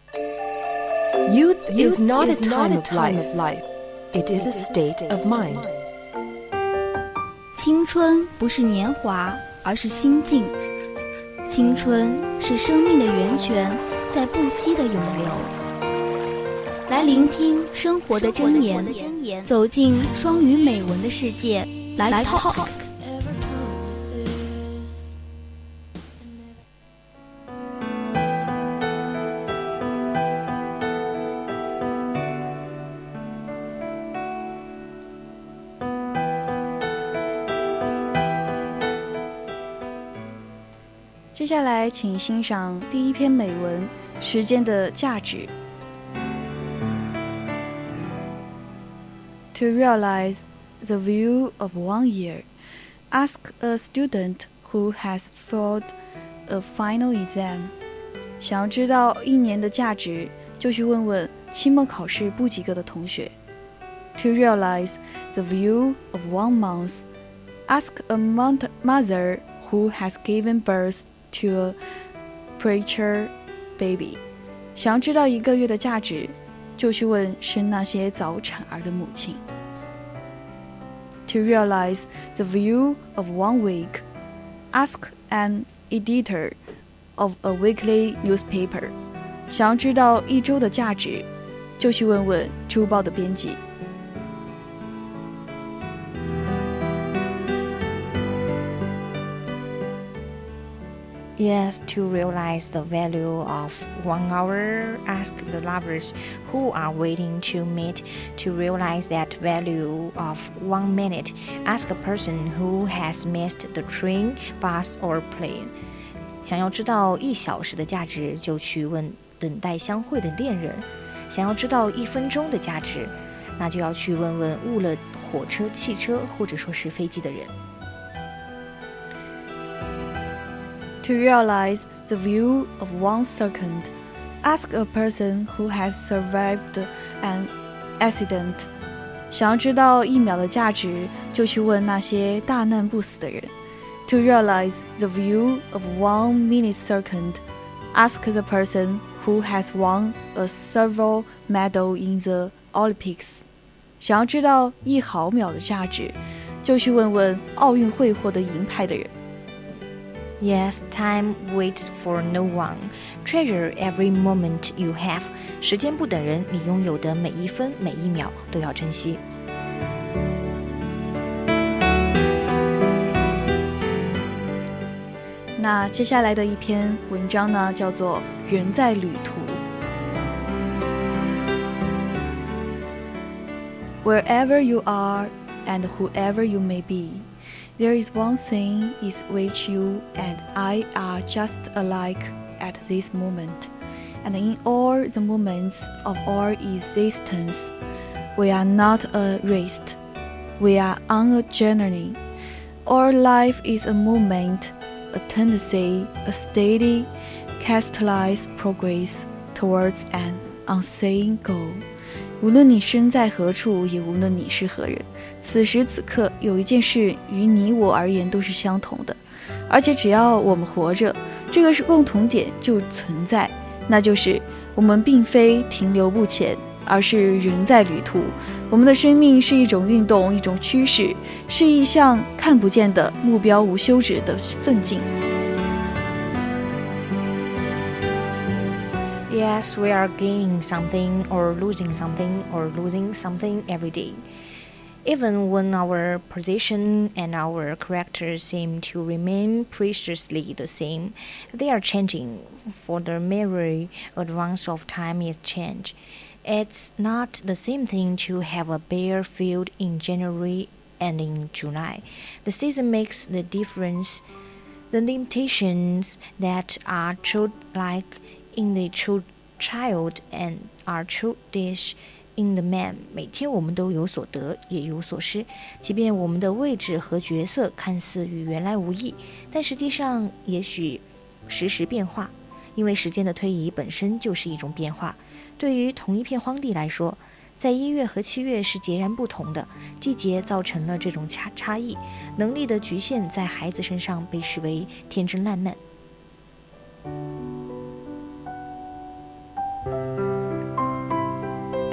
Youth is not a time of life. It is a state of mind. 青春不是年华，而是心境。青春是生命的源泉，在不息的涌流。来聆听生活的箴言，走进双语美文的世界。来 Talk。 接下来请欣赏第一篇美文《时间的价值》。To realize the value of 1 year, ask a student who has failed a final exam. 想要知道1年的价值，就去问问期末考试不及格的同学。To realize the value of 1 month, ask a mother who has given birth to a premature baby. 想要知道1个月的价值，就去问生那些早产儿的母亲。To realize the value of 1 week, ask an editor of a weekly newspaper. 想要知道1周的价值，就去问问周报的编辑。 Yes, to realize the value of 1 hour, ask the lovers who are waiting to meet. To realize that value of 1 minute, ask a person who has missed the train, bus or plane. 想要知道1小时的价值，就去问等待相会的恋人。想要知道1分钟的价值，那就要去问问误了火车、汽车或者说是飞机的人。 To realize the value of 1 second, ask a person who has survived an accident. 想要知道1秒的价值，就去问那些大难不死的人。To realize the value of 1 millisecond, ask the person who has won a silver medal in the Olympics. 想要知道1毫秒的价值，就去问问奥运会获得银牌的人。 Yes, time waits for no one. Treasure every moment you have. 时间不等人，你拥有的每1分每1秒都要珍惜。 那接下来的一篇文章呢，叫做《人在旅途》。Wherever you are and whoever you may be.There is one thing is which you and I are just alike at this moment, and in all the moments of our existence, we are not a race, we are on a journey. Our life is a movement, a tendency, a steady, catalyzed progress towards an unseen goal.无论你身在何处，也无论你是何人，此时此刻有一件事于你我而言都是相同的，而且只要我们活着，这个是共同点就存在，那就是我们并非停留不前，而是人在旅途。我们的生命是一种运动，一种趋势，是一项看不见的目标无休止的奋进。 Yes, we are gaining something or losing something every day. Even when our position and our character seem to remain preciously the same, they are changing, for the merry advance of time is change. It's not the same thing to have a bare field in January and in July. The season makes the difference. The limitations that are childlike in the child and are childish in the man. 每天我们都有所得，也有所失。即便我们的位置和角色看似与原来无异，但实际上也许时时变化，因为时间的推移本身就是一种变化。对于同一片荒地来说，在1月和7月是截然不同的，季节造成了这种差异，能力的局限在孩子身上被视为天真烂漫。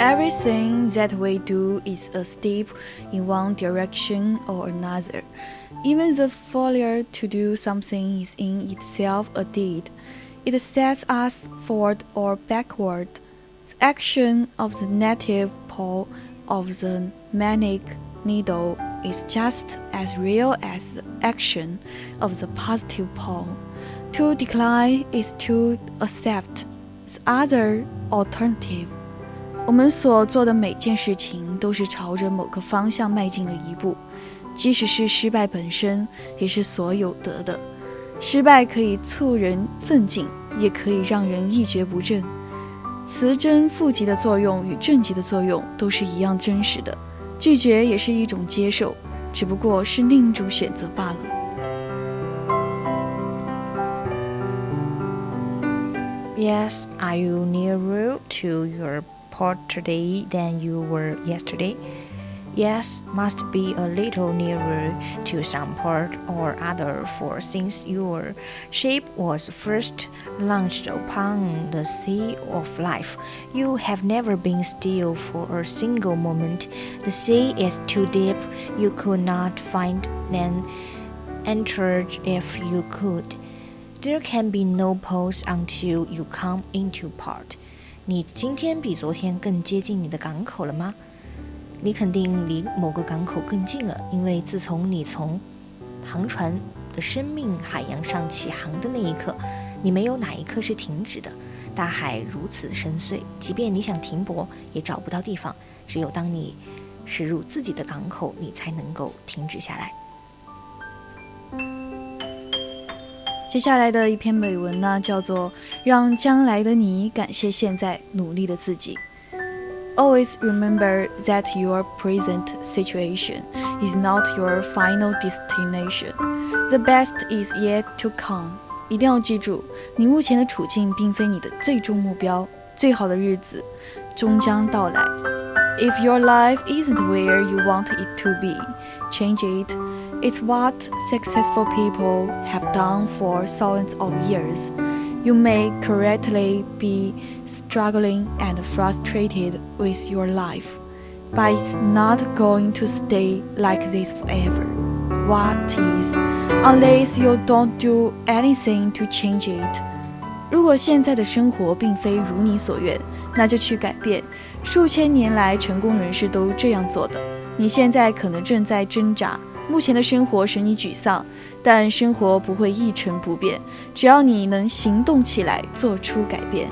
Everything that we do is a step in one direction or another. Even the failure to do something is in itself a deed. It sets us forward or backward. The action of the negative pole of the magnetic needle is just as real as the action of the positive pole. To decline is to accept the other alternative. 我们所做的每件事情都是朝着某个方向迈进了一步，即使是失败本身，也是所有得的。失败可以促人奋进，也可以让人一蹶不振。此真负极的作用与正极的作用都是一样真实的，拒绝也是一种接受，只不过是另一种选择罢了。 Yes, are you nearer to your port today than you were yesterday? Yes, must be a little nearer to some port or other, for since your ship was first launched upon the sea of life, you have never been still for a single moment. The sea is too deep, you could not find an anchorage if you could. There can be no pause until you come into port. 你今天比昨天更接近你的港口了吗？你肯定离某个港口更近了，因为自从你从航船的生命海洋上起航的那一刻，你没有哪一刻是停止的。大海如此深邃，即便你想停泊，也找不到地方。只有当你驶入自己的港口，你才能够停止下来。 接下来的一篇美文呢，叫做《让将来的你感谢现在努力的自己》。Always remember that your present situation is not your final destination. The best is yet to come. 一定要记住，你目前的处境并非你的最终目标，最好的日子终将到来。If your life isn't where you want it to be, change it. It's what successful people have done for thousands of years. You may correctly be struggling and frustrated with your life, but it's not going to stay like this forever. What is, unless you don't do anything to change it? 如果现在的生活并非如你所愿，那就去改变。数千年来，成功人士都这样做的。你现在可能正在挣扎，目前的生活使你沮丧，但生活不会一成不变，只要你能行动起来，做出改变。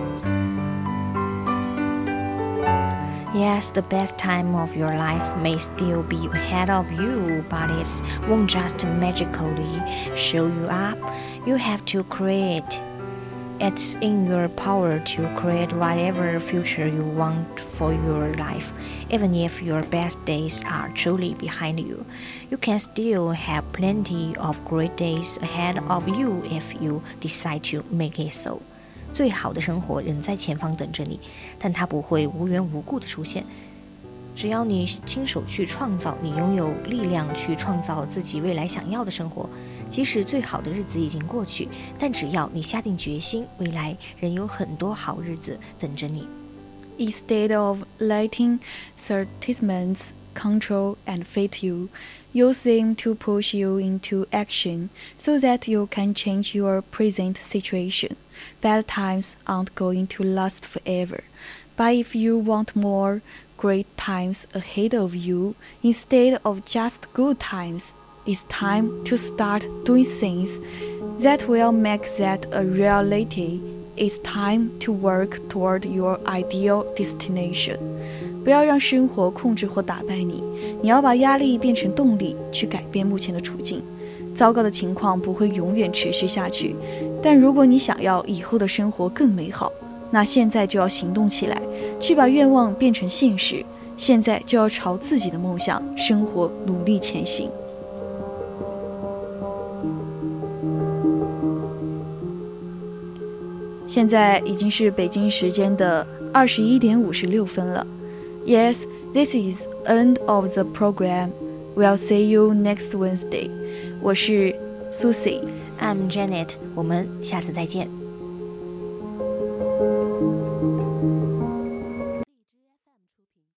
Yes, the best time of your life may still be ahead of you, but it won't just magically show you up. You have to create. It's in your power to create whatever future you want for your life. Even if your best days are truly behind you, you can still have plenty of great days ahead of you if you decide to make it so. 最好的生活仍在前方等着你，但它不会无缘无故的出现。只要你亲手去创造，你拥有力量去创造自己未来想要的生活。即使最好的日子已经过去，但只要你下定决心，未来仍有很多好日子等着你。 Instead of letting sentiments control and fit you, use them to push you into action so that you can change your present situation. Bad times aren't going to last forever, but if you want more great times ahead of you instead of just good times, it's time to start doing things that will make that a reality. It's time to work toward your ideal destination. 不要让生活控制或打败你，你要把压力变成动力，去改变目前的处境。糟糕的情况不会永远持续下去，但如果你想要以后的生活更美好，那现在就要行动起来，去把愿望变成现实。现在就要朝自己的梦想、生活努力前行。现在已经是北京时间的21点56分了。Yes, this is end of the program. We'll see you next Wednesday. 我是 Susie， I'm Janet， 我们下次再见。